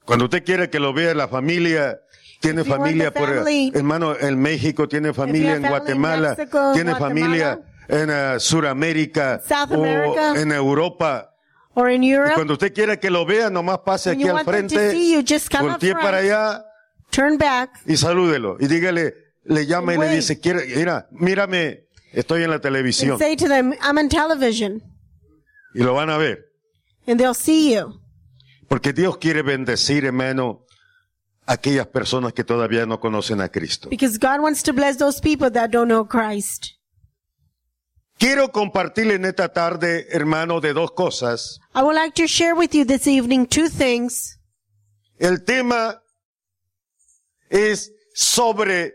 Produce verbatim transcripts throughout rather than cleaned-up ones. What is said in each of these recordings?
Cuando usted quiere que lo vea la familia, tiene If you want familia the por, family- hermano, en México, tiene familia en family in Guatemala, Mexico, tiene Guatemala, familia en uh, Suramérica South o America, en Europa. or in Y Europe, cuando usted quiera que lo vea, nomás pase when aquí you al want them to frente, see you, just come up voltee para front, allá turn back, y salúdelo. Y dígale, le llama y le Wait. dice, "Quiere- mira, mírame, estoy en la televisión." and say to them, I'm on television, Y lo van a ver. and they'll see you. Porque Dios quiere bendecir, hermano, a aquellas personas que todavía no conocen a Cristo. Because God wants to bless those people that don't know Christ. Quiero compartirle en esta tarde, hermano, de dos cosas. I would like to share with you this evening two things. El tema es sobre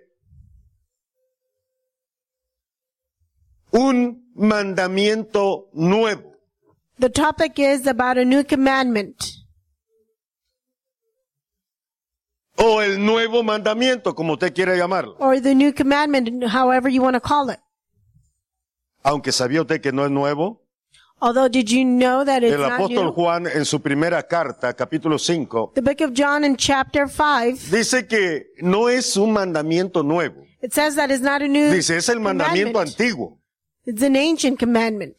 un mandamiento nuevo. The topic is about a new commandment, O el nuevo mandamiento, como usted quiera llamarlo. or the new commandment, however you want to call it. Aunque sabía usted que no es nuevo. Although, did you know that it's El not apóstol new? Juan en su primera carta, capítulo cinco, The book of John in chapter five, dice que no es un mandamiento nuevo. it says that it's not a new Dice, es el mandamiento commandment. antiguo. It's an ancient commandment.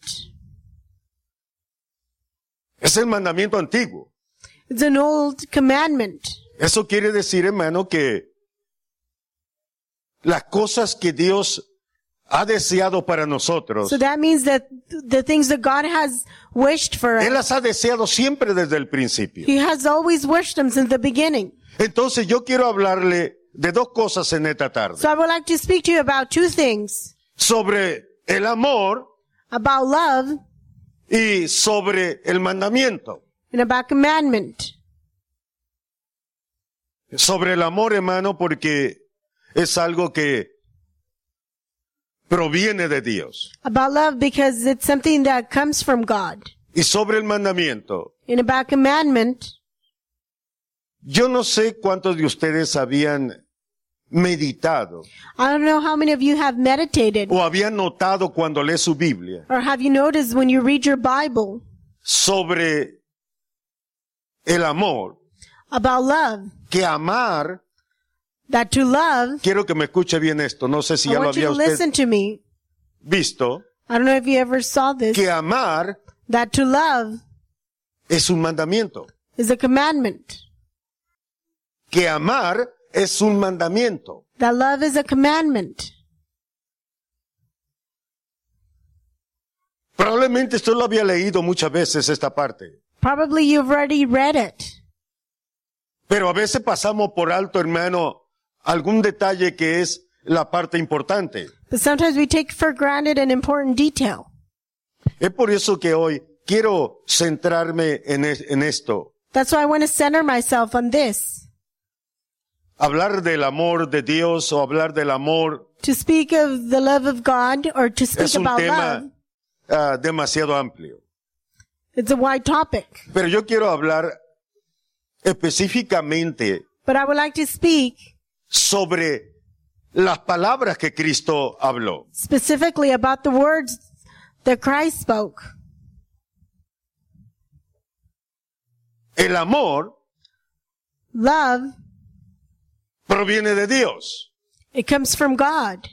Es el mandamiento antiguo. It's an old commandment. Eso quiere decir, hermano, que las cosas que Dios ha deseado para nosotros, So that means that the things that God has wished for Él us, las ha deseado siempre desde el principio. He has always wished them since the beginning. Entonces yo quiero hablarle de dos cosas en esta tarde. So I would like to speak to you about two things. Sobre el amor About love y sobre el mandamiento. and about commandment. Sobre el amor, hermano, porque es algo que proviene de Dios. About love because it's something that comes from God. Y sobre el mandamiento, And about commandment, yo no sé cuántos de ustedes habían meditado I don't know how many of you have meditated o habían notado cuando lee su Biblia or have you noticed when you read your Bible sobre el amor, about love, que amar, that to love, quiero que me escuche bien esto, no sé si I ya lo want you había to usted listen to me. visto, I don't know if you ever saw this, que amar that to love es un mandamiento, is a commandment. que amar es un mandamiento. That love is a commandment. Probablemente usted lo había leído muchas veces esta parte, Probably you've already read it. pero a veces pasamos por alto, hermano, algún detalle que es la parte importante. But sometimes we take for granted an important detail. Es por eso que hoy quiero centrarme en, es- en esto. That's why I want to center myself on this. Hablar del amor de Dios o hablar del amor To speak of the love of God or to speak es un about tema love, ah, demasiado amplio. it's a wide topic. Pero yo quiero hablar específicamente But I would like to speak sobre las palabras que Cristo habló. specifically about the words that Christ spoke. El amor Love, proviene de Dios. it comes from God.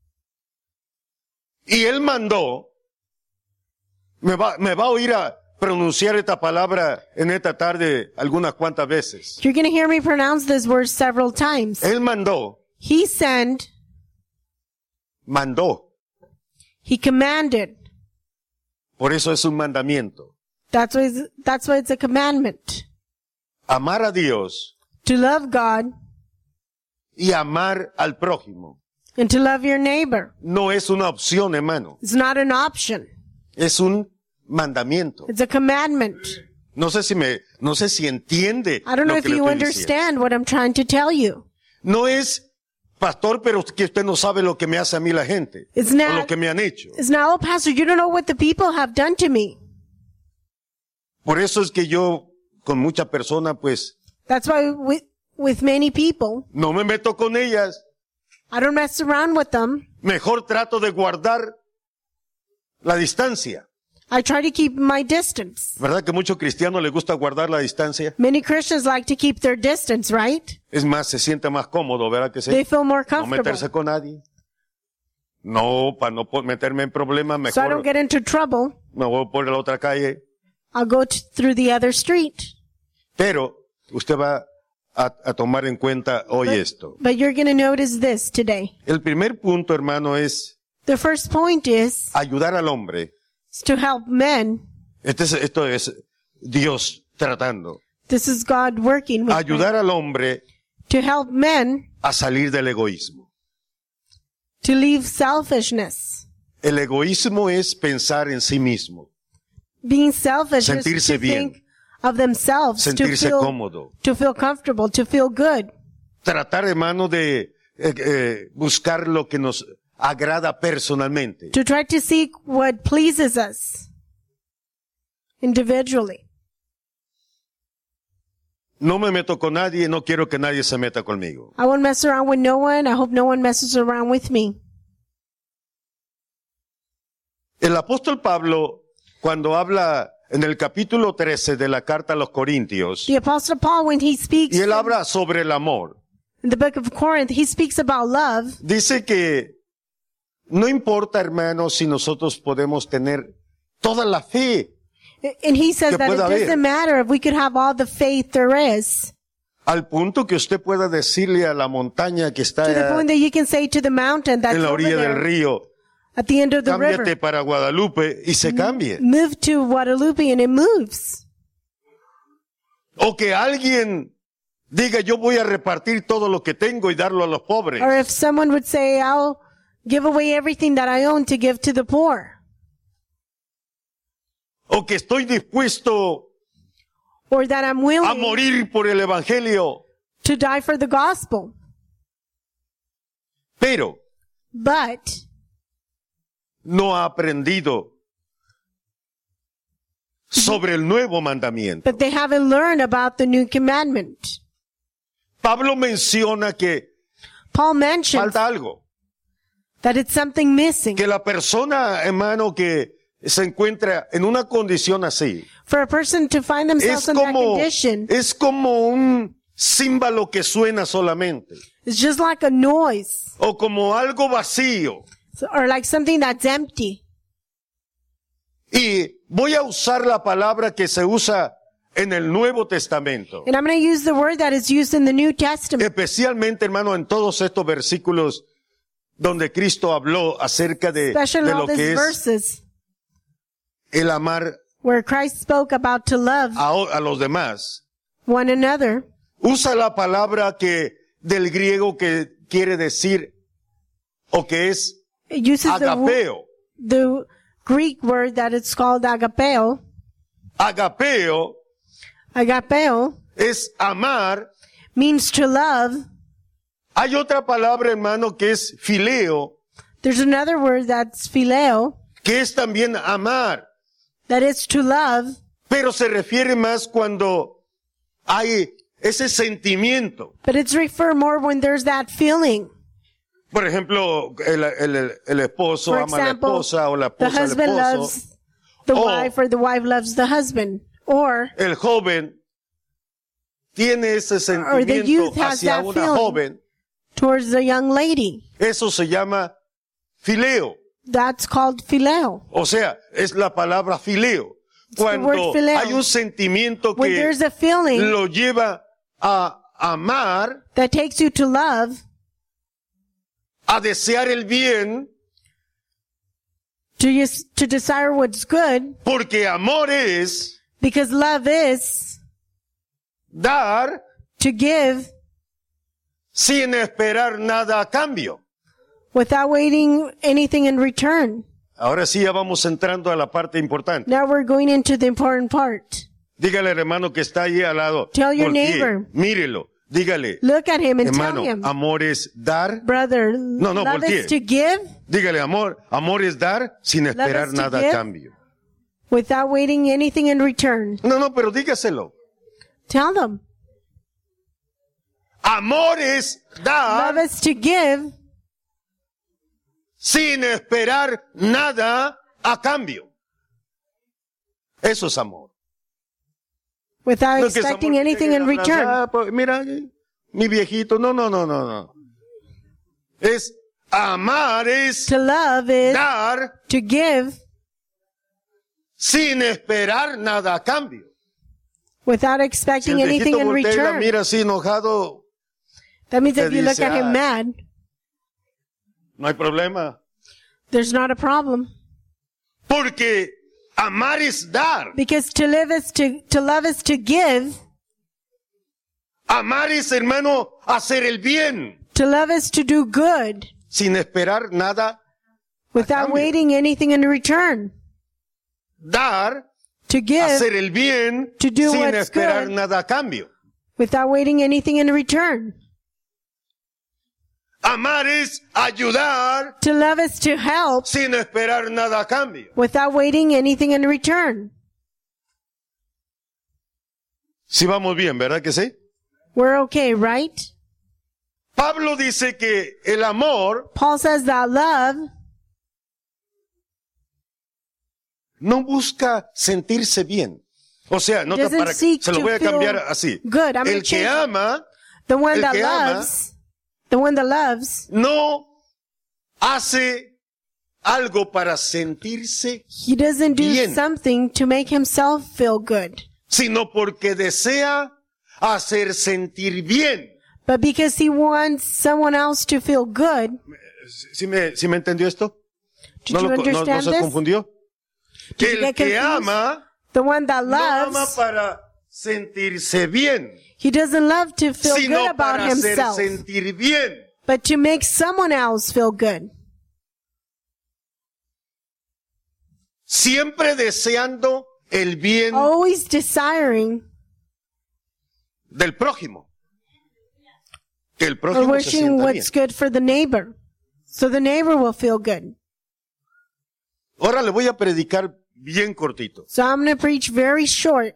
Y Él mandó, me va, me va a oír a pronunciar esta palabra en esta tarde algunas cuantas veces. You're going to hear me pronounce this word several times. Él mandó, He sent, mandó. He commanded. Por eso es un mandamiento. That's why it's, that's why it's a commandment. Amar a Dios To love God y amar al prójimo and to love your neighbor. no es una opción, hermano. It's not an option. Es un mandamiento. It's a commandment. No sé si me, no sé si entiende I don't know lo if que le you estoy diciendo. understand what I'm trying to tell you. No es, pastor, pero que usted no sabe lo que me hace a mí la gente. It's O not- lo que me han hecho. It's not, oh, Pastor, you don't know what the people have done to me. Por eso es que yo, con muchas personas, pues, That's why with, with many people, no me meto con ellas. I don't mess around with them. Mejor trato de guardar la distancia. I try to keep my distance. ¿Verdad que a muchos cristianos les gusta guardar la distancia? Many Christians like to keep their distance, right? Es más, se siente más cómodo, ¿verdad que sí? They feel more No comfortable. meterse con nadie. No, para no po- meterme en problemas, So I don't mejor get into trouble. me voy por la otra calle. I'll go t- through the other street. Pero usted va a, a tomar en cuenta hoy esto. But you're going to notice this today. El primer punto, hermano, es The first point is ayudar al hombre. to help men. Este es, esto es Dios tratando. This is God working with Ayudar al hombre men. To help men a salir del egoísmo. to leave selfishness. El egoísmo es pensar en sí mismo, Being selfish Sentirse is to bien. think of themselves, to sentirse feel, cómodo. to feel comfortable, to feel good. Tratar, hermano, de eh, eh, buscar lo que nos agrada personalmente. To try to seek what pleases us individually. No me meto con nadie, no quiero que nadie se meta conmigo. I won't mess around with no one. I hope no one messes around with me. El apóstol Pablo, cuando habla en el capítulo trece de la carta a los Corintios, The Apostle Paul, when he speaks y él habla sobre el amor, in the book of Corinth, he speaks about love. dice que no importa, hermano, si nosotros podemos tener toda la fe, And he says Que that it pueda haber. doesn't matter if we could have all the faith there is. al punto que usted pueda decirle a la montaña que está To the point that you can say to the mountain that's en la over orilla del there río, at the end of the cámbiate river. para Guadalupe y se cambie. Move to Guadalupe and it moves. O que alguien diga, yo voy a repartir todo lo que tengo y darlo a los pobres. Or if someone would say, I'll give away everything that I own to give to the poor. O que estoy dispuesto Or that I'm a willing morir por el evangelio. to die for the gospel. Pero But no ha aprendido sobre el nuevo mandamiento. but they haven't learned about the new commandment. Pablo menciona que Paul mentions falta algo. that it's something missing. Que la persona, hermano, que se encuentra en una condición así, For a person to find themselves es in that como, condition, es como un címbalo que suena solamente. it's just like a noise. O como algo vacío. Or like something that's empty. Y voy a usar la palabra que se usa en el Nuevo Testamento. And I'm going to use the word that is used in the New Testament. Especialmente, hermano, en todos estos versículos donde Cristo habló acerca de, Especially de all lo these que es verses el amar where Christ spoke about to love a, o- a los demás. one another. Usa la palabra que del griego que quiere decir o que es It uses the, wo- agapeo. the Greek word that it's called agapeo. Agapeo Agapeo es amar. means to love. Hay otra palabra, hermano, que es fileo, There's another word that's phileo, que es también amar. that is to love, Pero se refiere más cuando hay ese sentimiento. but it's referred more when there's that feeling. Por ejemplo, el, el, el esposo For ama a la example, esposa o la the esposa al husband esposo. loves the Oh. wife or the wife loves the husband. Or El joven tiene ese Or the youth sentimiento has hacia that una feeling. joven. towards the young lady. Eso se llama fileo. That's called phileo. O sea, es la palabra fileo. the Cuando word phileo. hay un sentimiento When que there's a feeling lo lleva a amar, that takes you to love, a desear el bien, to just, to desire what's good, porque amor es because love is dar to give sin esperar nada a cambio. without waiting anything in return. Ahora sí ya vamos entrando a la parte importante. Now we're going into the important part. Dígale al hermano que está ahí al lado. Tell your voltee, neighbor. Mírelo. Dígale, Look at him and hermano, tell him, amor es dar. brother, no, love voltee. is to give Dígale, amor, amor es dar sin esperar is to nada a give. cambio. without waiting anything in return. No, no, pero dígaselo. Tell them. Amor es dar Love is to give sin esperar nada a cambio. Eso es amor. without No es que es expecting amor que anything llegue in a abrazar, return. "Ah, pues, mira, mi viejito. No, no, no, no, no. Es amar, es To love is dar to give sin esperar nada a cambio. without Si expecting el anything viejito in voltea y la return. mira así enojado, That means te if you look dice, at him "Ah." mad, no hay problema. there's not a problem. Porque amar es dar. Because to live is to, to love is to give. Amar es, hermano, hacer el bien To love is to do good sin esperar nada. without cambio. waiting anything in return. Dar, To give hacer el bien to do sin what's esperar good. nada a cambio. without waiting anything in return. Amar es ayudar To love is to help sin esperar nada a cambio. without waiting anything in return. Si vamos bien, ¿verdad que sí? We're okay, right? Pablo dice que el amor Paul says that love no busca sentirse bien. O sea, no Doesn't para que, seek se lo to voy a feel cambiar así. good. I'm El gonna que change it. ama The one El that que ama- loves, the one that loves, no hace algo para sentirse, he doesn't do Bien. something to make himself feel good, sino porque desea hacer sentir bien. but because he wants someone else to feel good. ¿Sí me, sí me entendió esto? Did ¿No, you lo- no- no understand se this? confundió? Did you El get que confused? ama The one that no ama loves, para sentirse bien, he doesn't love to feel good sino about para hacer himself, sentir bien. but to make someone else feel good. Siempre deseando el bien Always desiring del prójimo. Que el or prójimo se wishing sienta bien. what's good for the neighbor, so the neighbor will feel good. Ahora le voy a predicar bien cortito. So I'm going to preach very short.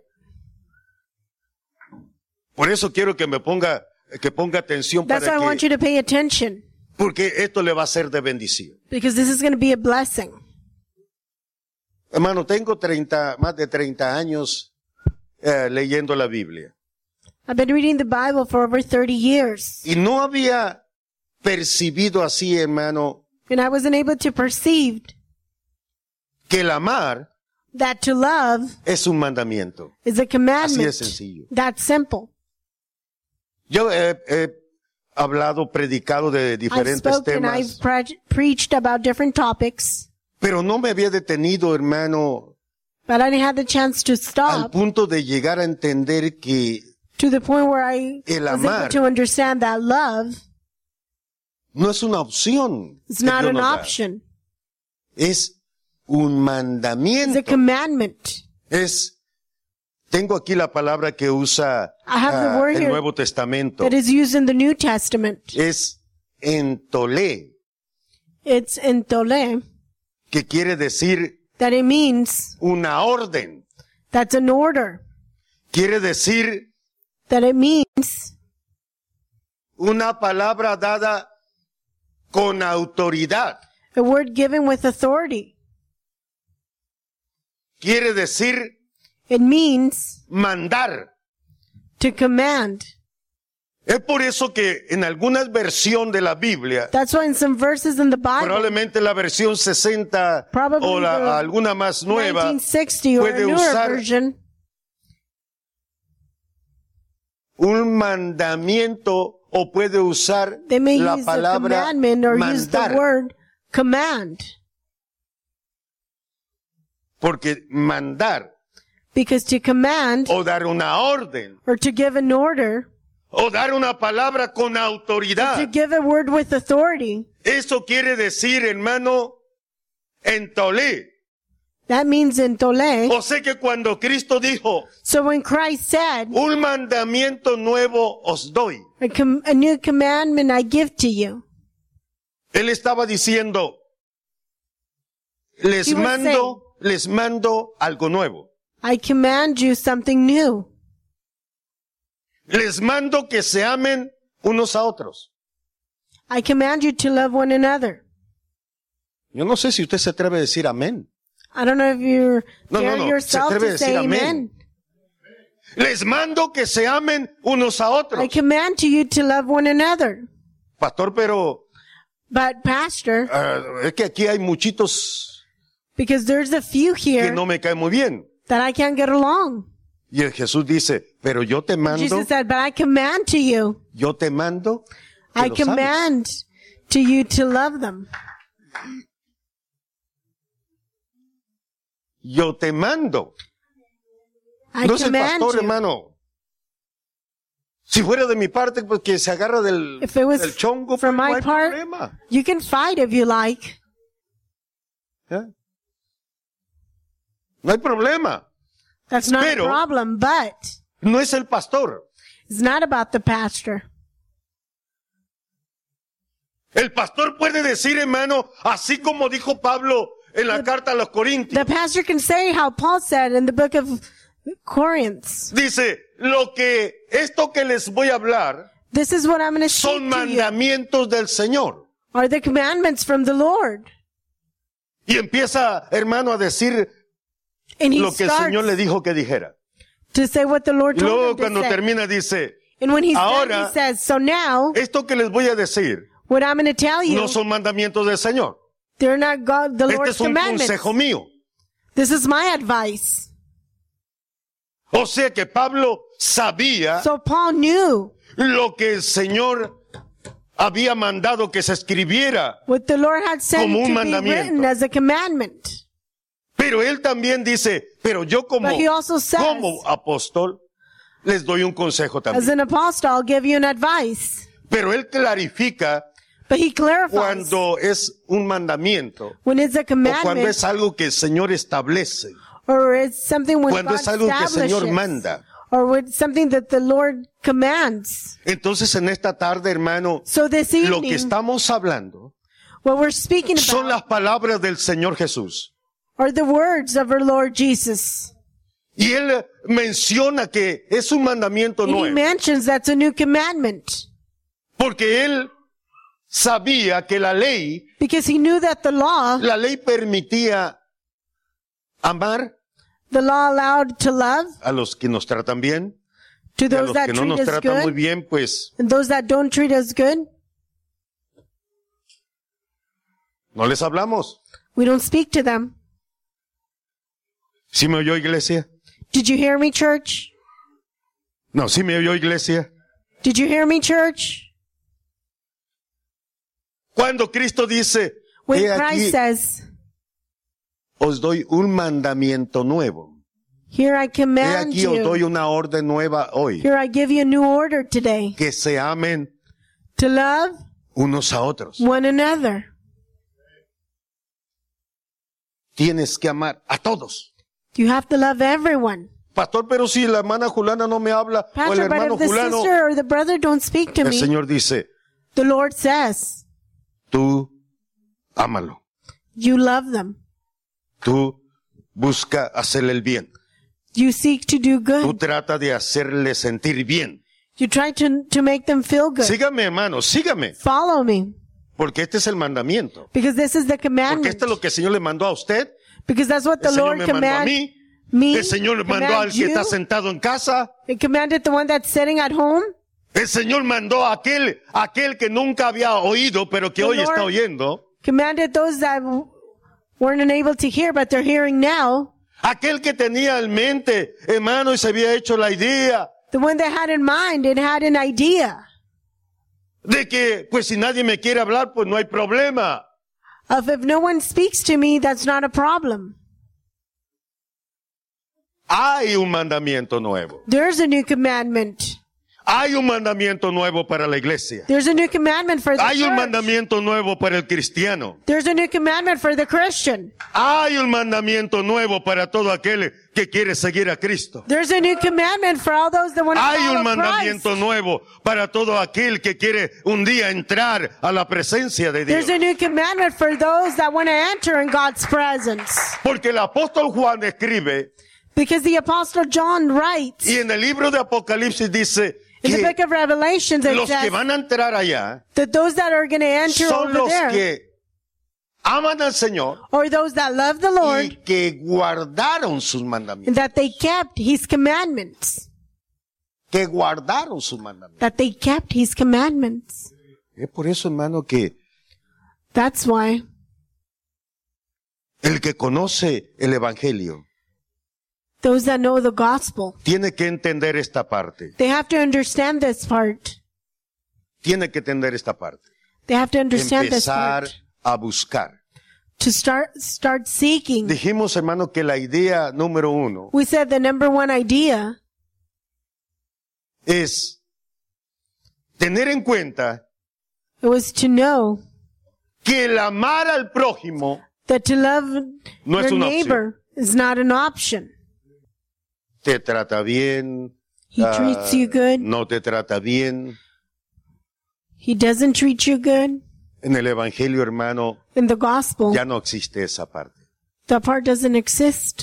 Por eso quiero que me ponga, que ponga atención That's why I para want you que, to pay attention, porque esto le va a ser de bendición. because this is going to be a blessing. Hermano, tengo treinta, más de treinta años eh, leyendo la Biblia. I've been reading the Bible for over thirty years, Y no había percibido así, hermano, and I wasn't able to perceive que el amar that to love es un mandamiento. is a Así commandment. de sencillo. That's simple. Yo he, he hablado, predicado de I've diferentes spoken, temas, I've pre- preached about different topics, pero no me había detenido, hermano, but I didn't have the chance to al stop punto de llegar a entender que to the point where I El was amar able to understand that love no es una opción. is que not Dios an nos da. option. Es un It's mandamiento. a commandment. Es, tengo aquí la palabra que usa I have the ah, word el here Nuevo Testamento. that is used in the New Testament. Es entolé, It's in Tole, que quiere decir that it means una orden. that's an order, Quiere decir that it means una palabra dada con autoridad. a word given with authority. Quiere decir It means mandar. to command. Es por eso que en algunas versiones de la Biblia, That's why in some verses in the Bible, probablemente la versión sesenta Probably o la, the alguna más nueva, nineteen sixty or a puede newer usar version, un mandamiento o puede usar they may la use the palabra commandment or use the mandar. word command. Porque mandar Because to command o dar una orden or to give an order, o dar una palabra con to autoridad, give a word with authority, eso quiere decir, hermano, entolé. that means in Tole. O sea que cuando Cristo dijo, So when Christ said, un mandamiento nuevo os doy, a, com- a new commandment I give to you, Él estaba diciendo, les He was mando, les mando algo nuevo. I command you something new. Les mando que se amen unos a otros. I command you to love one another. Yo no sé si usted se atreve a decir amén. I don't know if you No, dare no, no. yourself Se atreve a to say decir amén. amen. Les mando que se amen unos a I otros. command to you to love one another. Pastor, pero But pastor, ah, es que aquí hay muchitos because there's a few que here no me caen muy bien. that I can't get along. Y el Jesús dice, pero yo te mando, Jesus said, but I command to you, yo te mando que I los ames. command to you to love them. Yo te mando. I No es el command pastor, you. hermano. Si fuera de mi parte, pues que se agarra del, If it was del chongo, for pues no my hay part, problema. you can fight if you like. ¿Ya? No hay problema. That's not Pero- a problem, but No es el pastor. it's not about the pastor. El pastor puede decir, hermano, así como dijo Pablo en la carta a los Corintios. The pastor can say how Paul said in the book of Corinthians, Dice, lo que, esto que les voy a hablar this is what I'm going to son speak to you, mandamientos del Señor. are the commandments from the Lord. Y empieza, hermano, a decir And he lo que el starts Señor le dijo que dijera. to say what the Lord Y told luego him to cuando say. termina dice, And when he's done, ahora- he says, so now, esto que les voy a decir what I'm going to tell you, no son mandamientos del Señor. they're not God, the Este Lord's es un commandments. consejo mío. This is my advice. O sea que Pablo sabía So Paul knew lo que el Señor había mandado que se escribiera. what the Lord had sent Como un to be mandamiento. written as a commandment. Pero él también dice, pero yo como, But he also says- como apóstol, les doy un consejo As también. an apostle, I'll give you an advice. Pero él clarifica But he clarifies cuando es un mandamiento when it's a o cuando commandment es algo que el Señor establece, or it's something when cuando God es algo que el Señor establishes manda. or with something that the Lord commands. Entonces en esta tarde, hermano, So this lo que evening, estamos hablando what we're speaking son about las palabras del Señor Jesús. are the words of our Lord Jesus. Y él menciona que es un mandamiento And he nuevo, mentions that's a new commandment porque él sabía que la ley, because he knew that the law, la ley permitía amar the law allowed to love a los que nos tratan bien, to y a those los that que no treat nos us tratan muy good bien, pues and those that don't treat us good. no les hablamos. We don't speak to them. ¿Sí me oyó, iglesia? Did you hear me, church? No, ¿sí me oyó, iglesia? Did you hear me, church? Cuando Cristo dice, When he aquí Christ says, os doy un mandamiento nuevo. here I He command aquí os doy you, una orden nueva hoy. here I give you a new order today, Que se amen to love unos a otros. one another. Tienes que amar a todos. You have to love everyone. Pastor, pero si la hermana Julana no me habla, o el Pastor, but hermano if the Julano, sister or the brother don't speak to el me, Señor dice, the Lord says, tú ámalo. you love them. Tú busca hacerle el bien. You seek to do Tú good. trata de hacerle sentir bien. You try to, to make them feel good. Sígame, hermano, sígame. Follow me. Porque este es el mandamiento. Because this is the Porque commandment. esto es lo que el Señor le mandó a usted. Because that's what the El Señor Lord me mandó a commanded mí. me. El Señor le mandó al command que está you. sentado en casa. It commanded the one that's sitting at home. El Señor mandó a aquel, aquel que nunca había oído, pero que The hoy Lord- está oyendo. Commanded those that w- weren't unable to hear, but they're hearing now. Aquel que tenía en mente, hermano, y se había hecho la idea The one that had in mind and had an idea de que, pues si nadie me quiere hablar, pues no hay problema. of if no one speaks to me, that's not a problem. Hay un mandamiento nuevo. There's a new commandment. Hay un mandamiento nuevo para la iglesia. There's a new commandment for the Hay un church. mandamiento nuevo para el cristiano. There's a new commandment for the Christian. Hay un mandamiento nuevo para todo aquel que quiere seguir a Cristo. There's a new commandment for all those that want to Hay follow un mandamiento Christ. nuevo para todo aquel que quiere un día entrar a la presencia de Dios. There's a new commandment for those that want to enter in God's presence. Porque el apóstol Juan escribe, Because the apostle John writes y en el libro de Apocalipsis dice in the que book of Revelations, it los que says van a entrar allá that those that are going to enter son over los there que aman al Señor or those that love the Lord, y que guardaron sus mandamientos. and that they kept His commandments. Que guardaron sus mandamientos. That they kept His commandments. Es por eso, hermano, que That's why el que conoce el Evangelio those that know the gospel, tiene que entender esta parte. they have to understand this part. Tiene que entender esta parte. They have to understand this Empezar part. a buscar. To start, start seeking. Dijimos, hermano, que la idea número uno We said the number one idea es tener en cuenta it was to know que el amar al prójimo that to love no es your una opción. neighbor is not an option. Te trata bien, He ah, treats you good. no te trata bien. He doesn't treat you good. En el Evangelio, hermano, In the gospel, ya no existe esa parte. that part doesn't exist.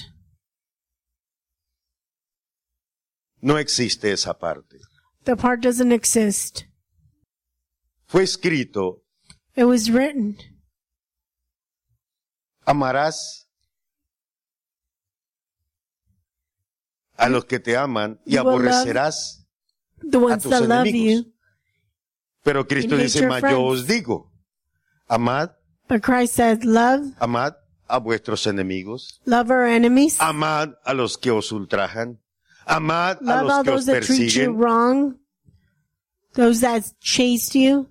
No existe esa parte. That part doesn't exist. Fue escrito, It was written, amarás a los que te aman y You will love aborrecerás the a ones tus that love enemigos. you. Pero Cristo And hate dice, your mas yo friends. os digo, amad, But Christ said, love, amad a vuestros enemigos, love our enemies. amad a los que os ultrajan, amad a Love los all que os those that treat you persiguen, wrong. Those that chased you.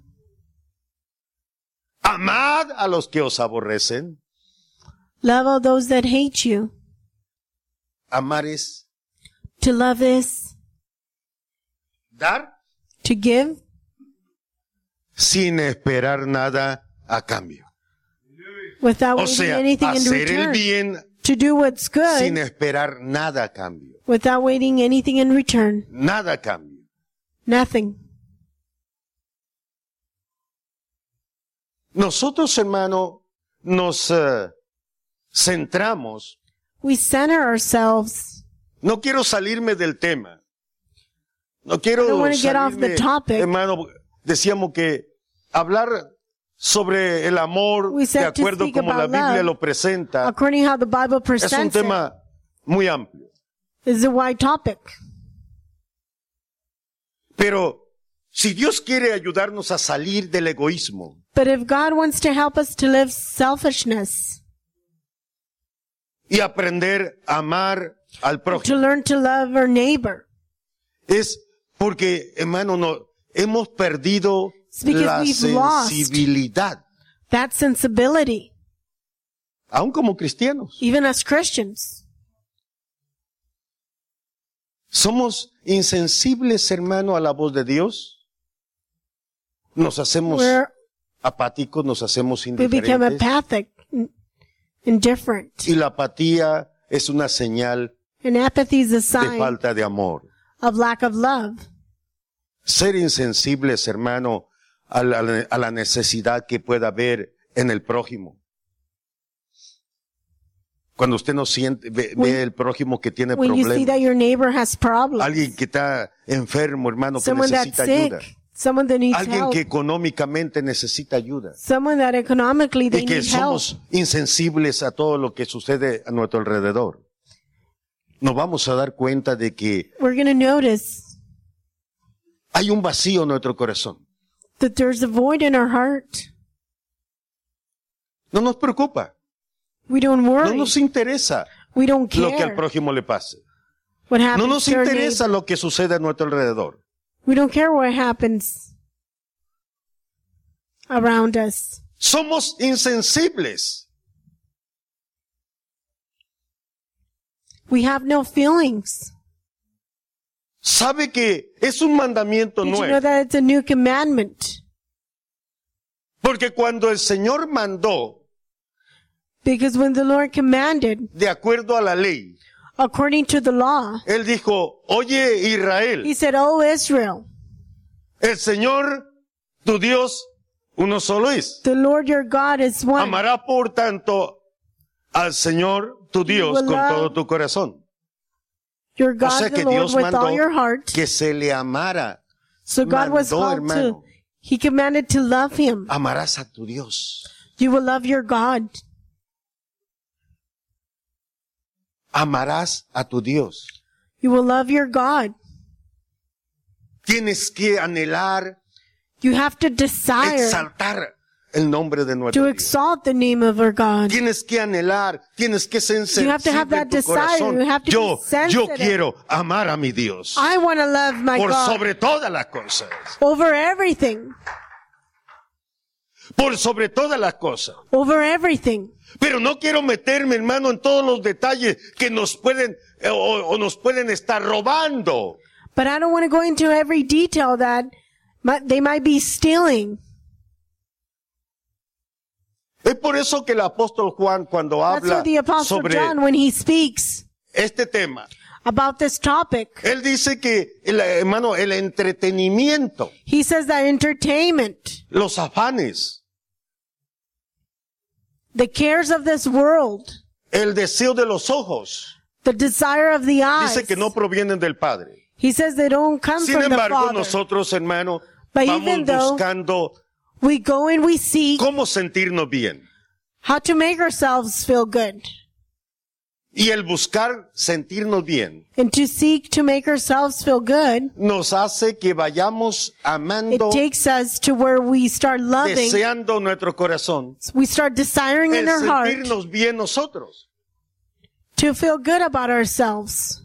amad a los que os aborrecen. Love all those that hate you. Amar es To love is dar to give sin esperar nada a cambio. without O waiting sea, anything in hacer el return. bien To do what's sin good esperar nada a cambio. without waiting anything in return. Nada a cambio. Nothing. Nosotros, hermano, nos eh, centramos. We center ourselves. No quiero salirme del tema. No quiero I don't wanna get off the salirme, topic. hermano. Decíamos que hablar sobre el amor We de said to acuerdo speak como la about Biblia love lo presenta According how the Bible es un presents it, tema muy amplio. is a wide topic. Pero si Dios quiere ayudarnos a salir del egoísmo, But if God wants to help us to live selfishness, y aprender a amar al to prójimo, learn to love our neighbor, es porque, hermano, no, hemos perdido It's because la we've lost. sensibilidad, that sensibility, aún como cristianos. even as Christians, Somos insensibles, hermano, a la voz de Dios. Nos hacemos we're, apáticos, nos hacemos we become indiferentes. apathic, n- indifferent. Y la apatía es una señal And apathy is a de sign falta de amor. of lack of love. Ser insensibles, hermano, a la, a la necesidad que pueda haber en el prójimo. Cuando usted no siente, ve, When- ve el prójimo que tiene When you see that problemas, your neighbor has problems, alguien que está enfermo, hermano, que someone that's necesita sick, ayuda, someone that needs alguien help, que económicamente necesita ayuda, someone that economically they y que need help, somos insensibles a todo lo que sucede a nuestro alrededor, nos vamos a dar cuenta de que we're going to notice hay un vacío en nuestro corazón. that there's a void in our heart. No nos preocupa, We don't no worry. nos interesa We don't lo que al care prójimo le pase. what happens No nos to our interesa neighbor. lo que sucede a nuestro alrededor. We don't care what happens around us. Somos insensibles. We have no feelings. Sabe que es un mandamiento Did you know nuevo. that it's a new commandment? Porque cuando el Señor mandó, Because when the Lord commanded, de acuerdo a la ley, according to the law, Él dijo, oye Israel, He said, "O Israel, el Señor, tu Dios, uno solo es. the Lord your God is one. Amará por tanto al Señor, tu Dios, will con love todo tu corazón. Your O God, sea the que Lord, Dios with mandó all your heart." que se le amara. So God was mandó, called hermano. to, He commanded to love Him. Amarás a tu Dios. You will love your God. Amarás a tu Dios. You will love your God. Tienes que anhelar, You have to desire exaltar el nombre de to nuestro Dios. exalt the name of our God. Tienes que anhelar, tienes que ser You have to have sensible en that tu desire. corazón. You have to Yo, be sensitive. yo quiero amar a mi Dios I want to love my por God sobre todas las cosas. over everything. Por sobre todas las cosas. Over everything. Pero no quiero meterme, hermano, en todos los detalles que nos pueden eh, o, o nos pueden estar robando. But I don't want to go into every detail that might, they might be stealing. Es por eso que el apóstol Juan, cuando That's habla what the Apostle sobre John, when he speaks este tema, about this topic, él dice que, el, hermano, el entretenimiento, he says that entertainment, los afanes, the cares of this world, el deseo de los ojos, the desire of the eyes, dice que no provienen del Padre. he says they don't come Sin from the embargo, Father. nosotros, hermano, But vamos even though buscando we go and we seek cómo sentirnos bien. how to make ourselves feel good. Y el buscar sentirnos bien And to seek to make ourselves feel good, nos hace que vayamos it amando, takes us to where we start loving, deseando nuestro corazón, we start desiring in el our heart sentirnos bien nosotros. to feel good about ourselves.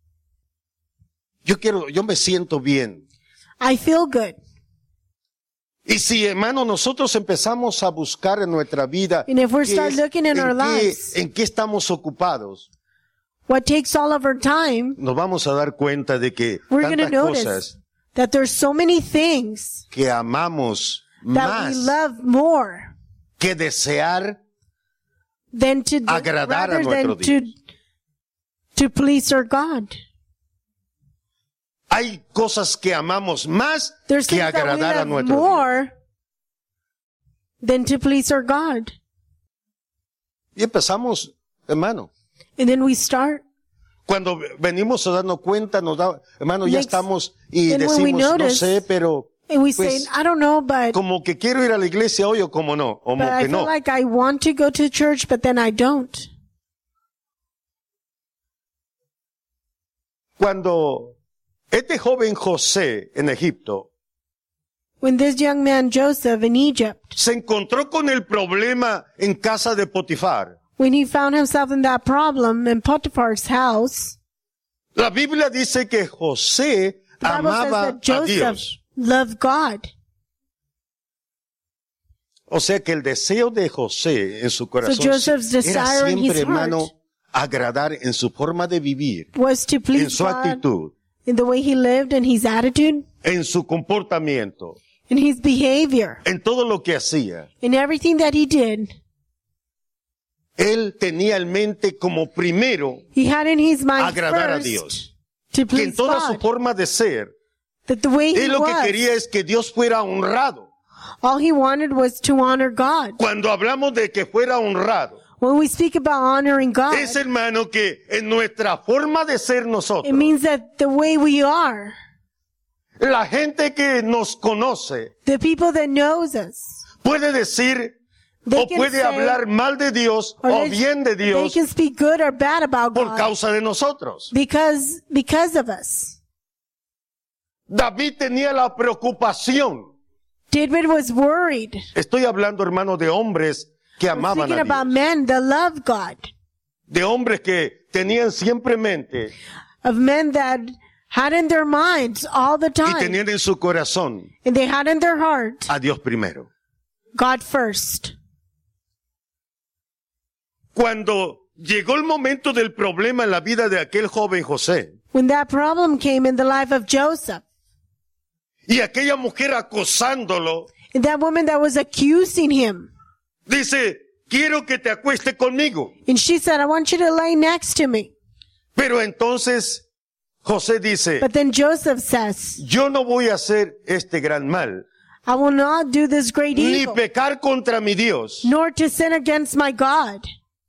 Yo quiero, yo me siento bien. I feel good. Y si, hermano, nosotros empezamos a buscar en nuestra vida And if we qué start es- looking in en, our qué, lives, en qué estamos ocupados, what takes all of our time, nos vamos a dar cuenta de que we're going to tantas notice cosas that there's so many things que amamos that más we love more que desear than to do, agradar a rather nuestro than to, Dios. to please our God. Hay cosas que amamos más There's que things that we agradar a love nuestro Dios. more than to please our God. Y empezamos, hermano, And then we start. cuando venimos a darnos cuenta, nos da, hermano, ya Next- estamos y and when we decimos, no notice- sé, pero And we pues, say, I don't know, but, como que quiero ir a la iglesia hoy o como no, o como but I que feel no. like I want to go to church, but then I don't. Cuando este joven José en Egipto When this young man Joseph in Egypt, se encontró con el problema en casa de Potifar, when he found himself in that problem in Potiphar's house, la Biblia dice que José the Bible says amaba that a Joseph Dios. loved God. O sea que el deseo de José en su corazón Joseph's era desire in siempre, his hermano, heart agradar en su forma de vivir, Was to en please su God actitud, in the way he lived and his attitude, en su comportamiento, in his behavior, en todo lo que hacía. in everything that he did. Él tenía en mente como primero He had in his mind agradar a first Dios. to Que en please toda su God. forma de ser, That the way he él lo que was, quería es que Dios fuera honrado. all he wanted was to honor God. Cuando hablamos de que fuera honrado, When we speak about honoring God, es, hermano, que en nuestra forma de ser nosotros, it means that the way we are, la gente que nos conoce the people that knows us, puede decir they o can puede say, hablar mal de Dios or o they, bien de they Dios can speak good or bad about por God causa de nosotros. because, because of us. David tenía la preocupación. David was worried. Estoy hablando, hermano, de hombres que I'm amaban speaking a about Dios. men that love God, De hombres que tenían siempre en mente of men that had in their minds all the y time, tenían en su corazón and they had in their heart a Dios primero. God first. Cuando llegó el momento del problema en la vida de aquel joven José When that problem came in the life of Joseph, y aquella mujer acosándolo, and that woman that was accusing him, dice, quiero que te acueste conmigo. and she said, I want you to lay next to me. Pero entonces José dice, But then Joseph says, yo no voy a hacer este gran mal, I will not do this great ni evil, pecar contra mi Dios, nor to sin against my God,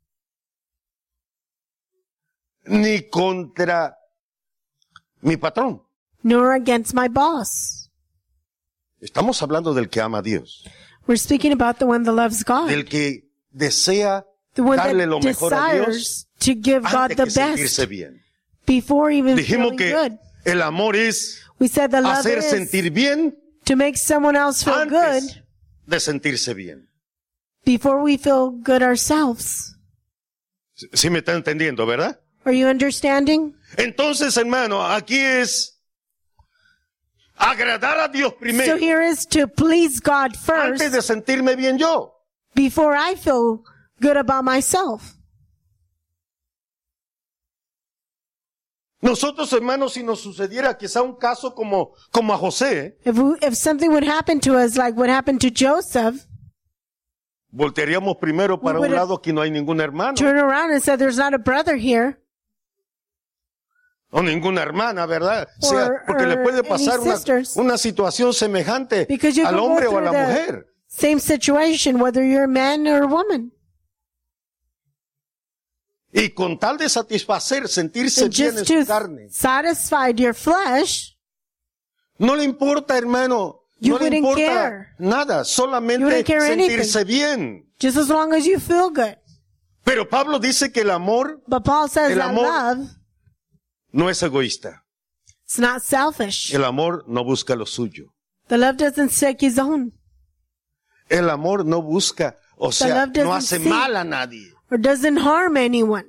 ni contra mi patrón. nor against my boss. Estamos hablando del que ama a Dios. We're speaking about the one that loves God. del que desea The one darle lo that mejor a Dios desires to give God antes the que sentirse best bien. before even Dijimos feeling que good. el amor es We said the love hacer is sentir bien to make someone else feel good antes de sentirse bien. before we feel good ourselves. ¿Sí me está entendiendo, verdad? Are you understanding? Entonces, hermano, aquí es agradar a Dios So primero here is to please God first antes de sentirme bien yo. before I feel good about myself. Nosotros, hermanos, si nos sucediera quizá un caso como, como a José, If we, if something would happen to us like what happened to Joseph, voltearíamos primero para We un would lado, aquí no hay ningún hermano turn around and said, there's not a brother here. o ninguna hermana, ¿verdad? O Or- sea, porque le or puede any pasar una, sisters. una situación semejante Because you al can go hombre o a through la the mujer. same situation, whether you're a man or a woman. Y con tal de satisfacer, sentirse And bien en just su to carne, satisfy your flesh, no le importa, hermano, You no le wouldn't importa care. nada, You solamente wouldn't care sentirse bien. just as long as you feel good. Pero Pablo dice que el amor But Paul says El that amor- love no es egoísta. is not selfish. El amor no busca lo suyo. The love doesn't seek his own El amor no busca, o sea, love doesn't no hace seek- mal a nadie. or doesn't harm anyone.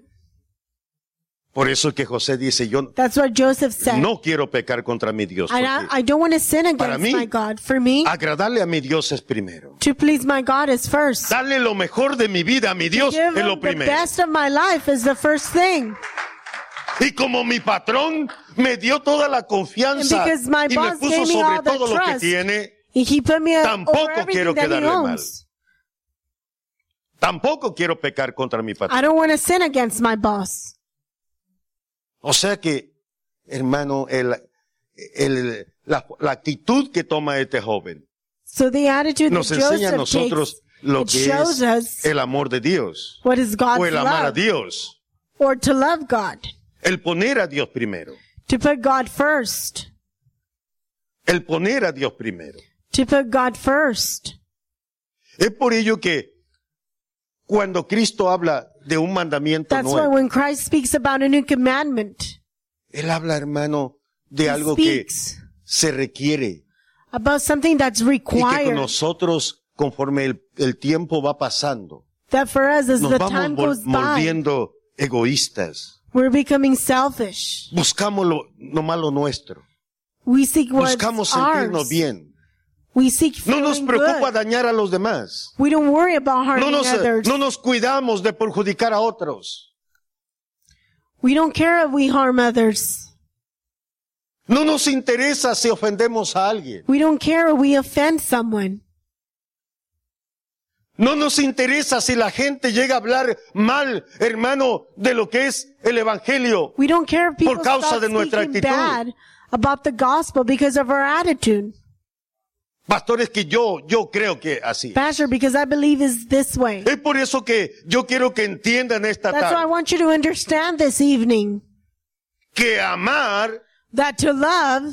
Por eso es que José dice, yo That's what Joseph said. no quiero pecar contra mi Dios. I, porque I don't want to sin Para against mí- my God. For me, agradarle a mi Dios es primero. to please my God is first. Darle lo mejor de mi vida a mi Dios Give es lo him the primero. best of my life is the first thing. Y como mi patrón me dio toda la confianza And because my y me boss puso gave me sobre all the todo lo que trust, tiene, He put me Tampoco over everything quiero that he quedarle mal. owns. tampoco quiero pecar contra mi patrón. I don't want to sin against my boss. O sea que, hermano, el, el, la, la actitud que toma este joven So the attitude nos that enseña a Joseph nosotros takes, lo it que shows es us el amor de Dios what is God's o el amar a love, Dios, or to love God, el poner a Dios primero, to put God first, el poner a Dios primero. to put God first. Es por ello que cuando Cristo habla de un mandamiento That's why nuevo, when Christ speaks about a new commandment, Él habla, hermano, de He algo que speaks se requiere about something that's y que con required, nosotros, conforme el, el tiempo va pasando, that for us as nos the vamos time vol- goes by, volviendo egoístas. we're becoming selfish. Buscamos lo, nomás lo nuestro. We seek what's Buscamos sentirnos ours. bien. We seek No nos feeling preocupa good. dañar a los demás. We don't worry about No harming nos, others. no nos cuidamos de perjudicar a otros. We don't care if we harm others. No nos interesa si ofendemos a alguien. We don't care if we offend someone. No nos interesa si la gente llega a hablar mal, hermano, de lo que es el evangelio. We don't care if people Por causa start de nuestra speaking actitud. bad about the gospel because of our attitude. Pastores, que yo, yo creo que así. Pastor, because I believe is this way. Es por eso que yo quiero que entiendan esta That's why I tarde want you to understand this evening que amar that to love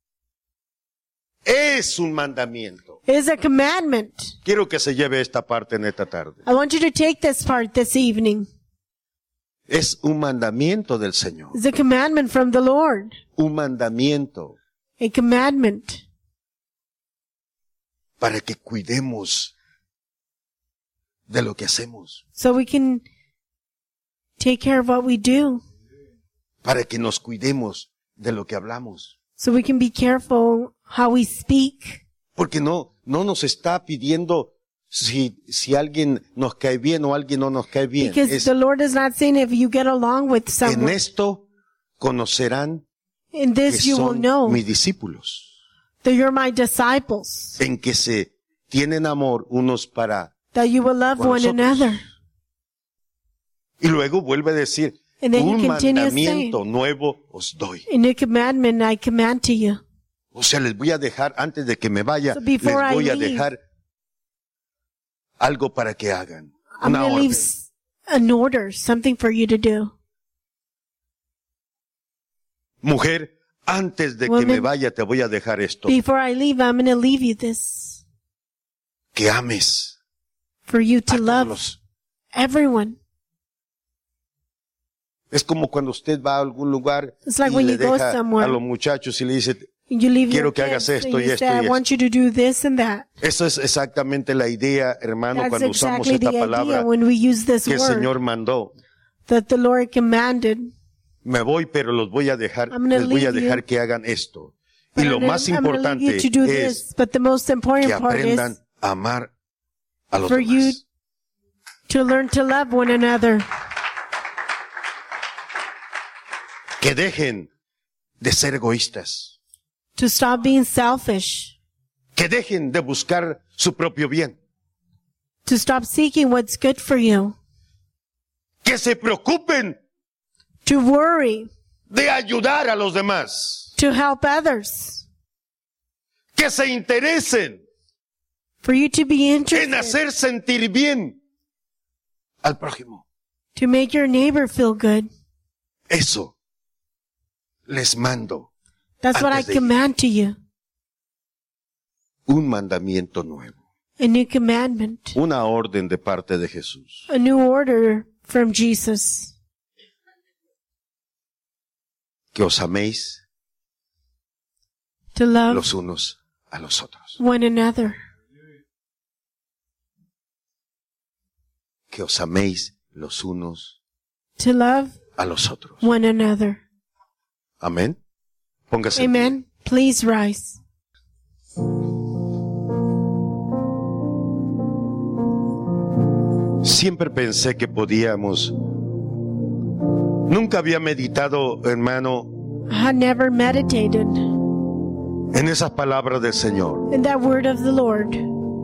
es un mandamiento. is a commandment. Quiero que se lleve esta parte en esta tarde. I want you to take this part this evening. Es un mandamiento del Señor. It's a commandment from the Lord. Un mandamiento A commandment para que cuidemos de lo que hacemos. so we can take care of what we do. Para que nos cuidemos de lo que hablamos. So we can be careful how we speak. Porque no, no nos está pidiendo si, si alguien nos cae bien o alguien no nos cae bien. Because Es, the Lord is not saying if you get along with en someone, esto conocerán in que this you will son know mis discípulos. that you're my disciples, En que se tienen amor unos para... that you will love Con one nosotros. another. Y luego vuelve a decir, And then he un continues mandamiento nuevo os doy. A new commandment I command to you. O sea, les voy a dejar, antes de que me vaya, So les before I voy a leave, dejar algo para que hagan. I'm Una going to leave orden. s- an order, something for you to do. Mujer, antes de que Woman, me vaya te voy a dejar esto. Before I leave, I'm going to leave you this. que ames for you to a love todos. everyone. Es como cuando usted va a algún lugar It's like y when le you go deja somewhere. a los muchachos y le dice, You leave quiero your que hagas kids esto and y you esto say, y I want you to do this and that. eso es exactamente la idea, hermano, That's cuando usamos exactly esta the palabra idea when we use this que el word Señor mandó. that the Lord commanded. Me voy, pero los voy a dejar, I'm gonna les voy a leave dejar you. que hagan esto. But Y lo I'm gonna- más I'm gonna leave importante you to do es this, but the most que important part aprendan is a amar a los for you demás. to learn to love one another. Que dejen de ser egoístas. To stop being selfish. Que dejen de buscar su propio bien. To stop seeking what's good for you. Que se preocupen To worry. de ayudar a los demás. To help others. Que se interesen For you to be en interested. hacer sentir bien al prójimo. To make your neighbor feel good. Eso les mando. That's what I Antes de ir. command to you. Un mandamiento nuevo. A new commandment. Una orden de parte de Jesús. A new order from Jesus. Que os améis To love los unos a los otros. one another. Que os améis los unos To love a los otros. one another. Amén. Póngase en pie. Amen. Please rise. Siempre pensé que podíamos. Nunca había meditado, hermano, I had never meditated en esas palabras del Señor. in that word of the Lord.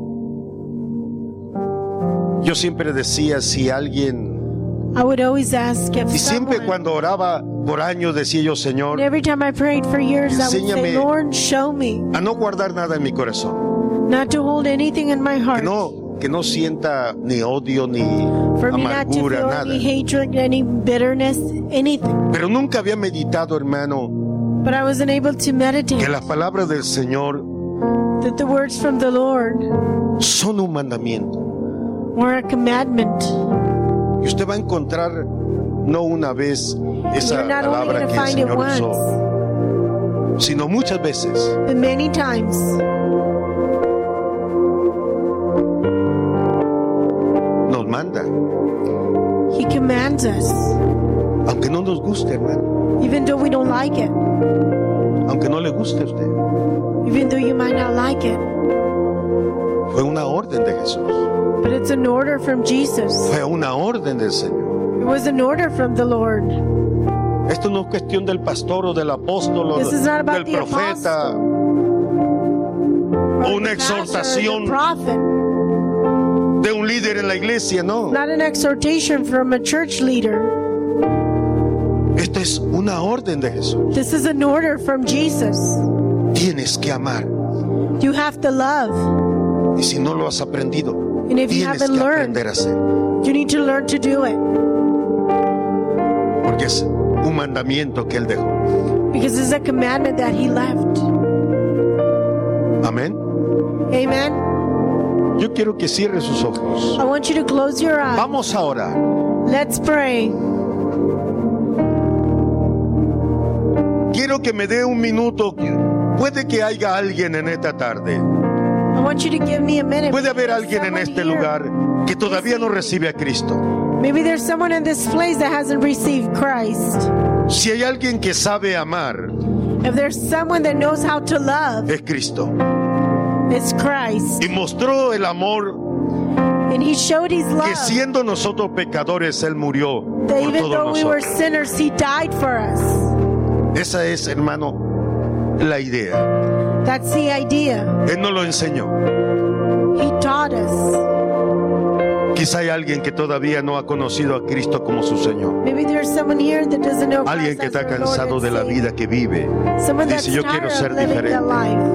Yo siempre decía, si alguien, I would always ask if y siempre someone, cuando oraba por años decía yo, and Señor, every time I prayed for years, I would say, Enséñame Lord, show me a no guardar nada en mi corazón. not to hold anything in my Que heart. no, que no sienta ni odio, ni For me not to amargura, feel nada. any hatred, any bitterness, anything. Pero nunca había meditado, hermano, But I wasn't able to meditate que las palabras del Señor that the words from the Lord son un mandamiento. were a commandment. Y usted va a encontrar no una vez esa You're not only palabra going to que el find it Señor once, usó, sino muchas veces. but many times. Nos manda, He commands us, aunque no nos guste, hermano, even though we don't like it, aunque no le guste a usted. even though you might not like it. Fue una orden de Jesús, But it's an order from Jesus. fue una orden del Señor. It was an order from the Lord. Esto no es cuestión del pastor o del apóstol o This is not about del the profeta Or o una the pastor or exhortación the prophet. de un líder en la iglesia, no. Not an exhortation from a church leader. Esta es una orden de Jesús. This is an order from Jesus. Tienes que amar. You have to love. Y si no lo has aprendido, And if you tienes haven't que learned, aprender a hacer. you need to learn to do it. Porque es un mandamiento que Él dejó. Because it's a commandment that He left. Amén. Amen. Yo quiero que cierre sus ojos. I want you to close your eyes. Vamos a orar. Let's pray. Quiero que me dé un minuto. Puede que haya alguien en esta tarde. I want you to give me a minute. Puede haber There's alguien en someone este here. lugar que todavía no recibe a Cristo. Maybe there's someone in this place that hasn't received Christ. Si hay alguien que sabe amar, If there's someone that knows how to love, es Cristo. it's Christ. Y mostró el amor And He showed His que love. siendo nosotros pecadores, Él murió That por even todos though we were nosotros. sinners, He died for us. Esa es, hermano, la idea. That's the idea. Él nos lo enseñó. He taught us. Quizá hay alguien que todavía no ha conocido a Cristo como su Señor. Maybe there's someone here that doesn't know Alguien Christ que as está their Lord cansado and de la Savior. vida que vive. Someone that's Dice, yo quiero tired ser of living that diferente. life.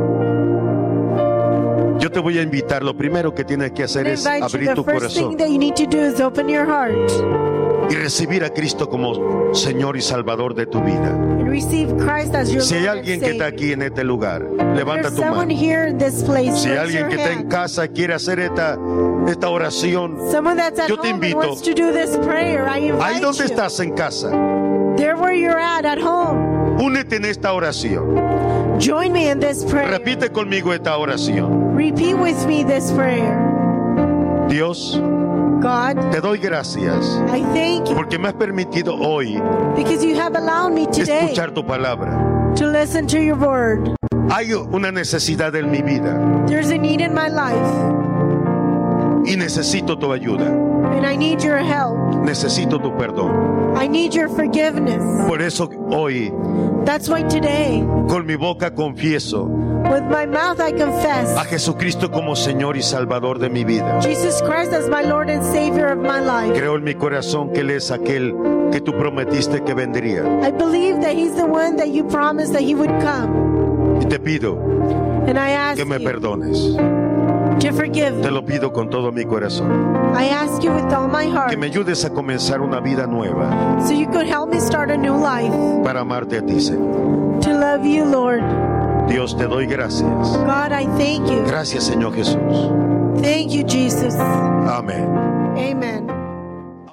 Yo te voy a invitar. Lo primero que tienes que hacer I es invite you, abrir the tu first thing corazón. that you need to do is open your heart. y recibir a Cristo como Señor y Salvador de tu vida. and receive Christ as your Si hay Lord and alguien que está Savior. aquí en este lugar, levanta There's tu someone mano. here in this place. Si hay Raise alguien your que está en hand. casa quiere hacer esta, esta oración, Someone that's at yo te home and invito. wants to do this prayer, I invite ahí donde you. estás en casa, There where you're at, at home. únete en esta oración. Join me in this prayer. Repite conmigo esta oración. Repeat with me this prayer. Dios, God, te doy gracias I thank you porque me has permitido hoy because you have allowed me today escuchar tu palabra. to listen to your word. Hay una necesidad en mi vida There's a need in my life, y necesito tu ayuda. and I need your help. Necesito tu perdón. I need your forgiveness. Por eso hoy, That's why today, con mi boca confieso with my mouth, I a confess Jesucristo como Señor y Salvador de mi vida. Jesus Christ as my Lord and Savior of my life. Creo en mi corazón que Él es aquel que tú prometiste que vendría. I believe that He's the one that you promised that He would come. Y te pido And I ask que me you perdones. to forgive Te me. lo pido con todo mi corazón. I ask you with all my heart Que me ayudes a comenzar una vida nueva so you could help me start a new life para amarte a ti, Señor. to love you, Lord. Dios, te doy gracias. God, I thank you. Gracias, Señor Jesús. Thank you, Jesus. Amén. Amen.